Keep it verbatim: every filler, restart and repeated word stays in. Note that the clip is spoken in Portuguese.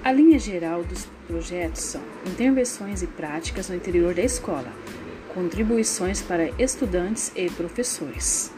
A linha geral dos projetos são intervenções e práticas no interior da escola, contribuições para estudantes e professores.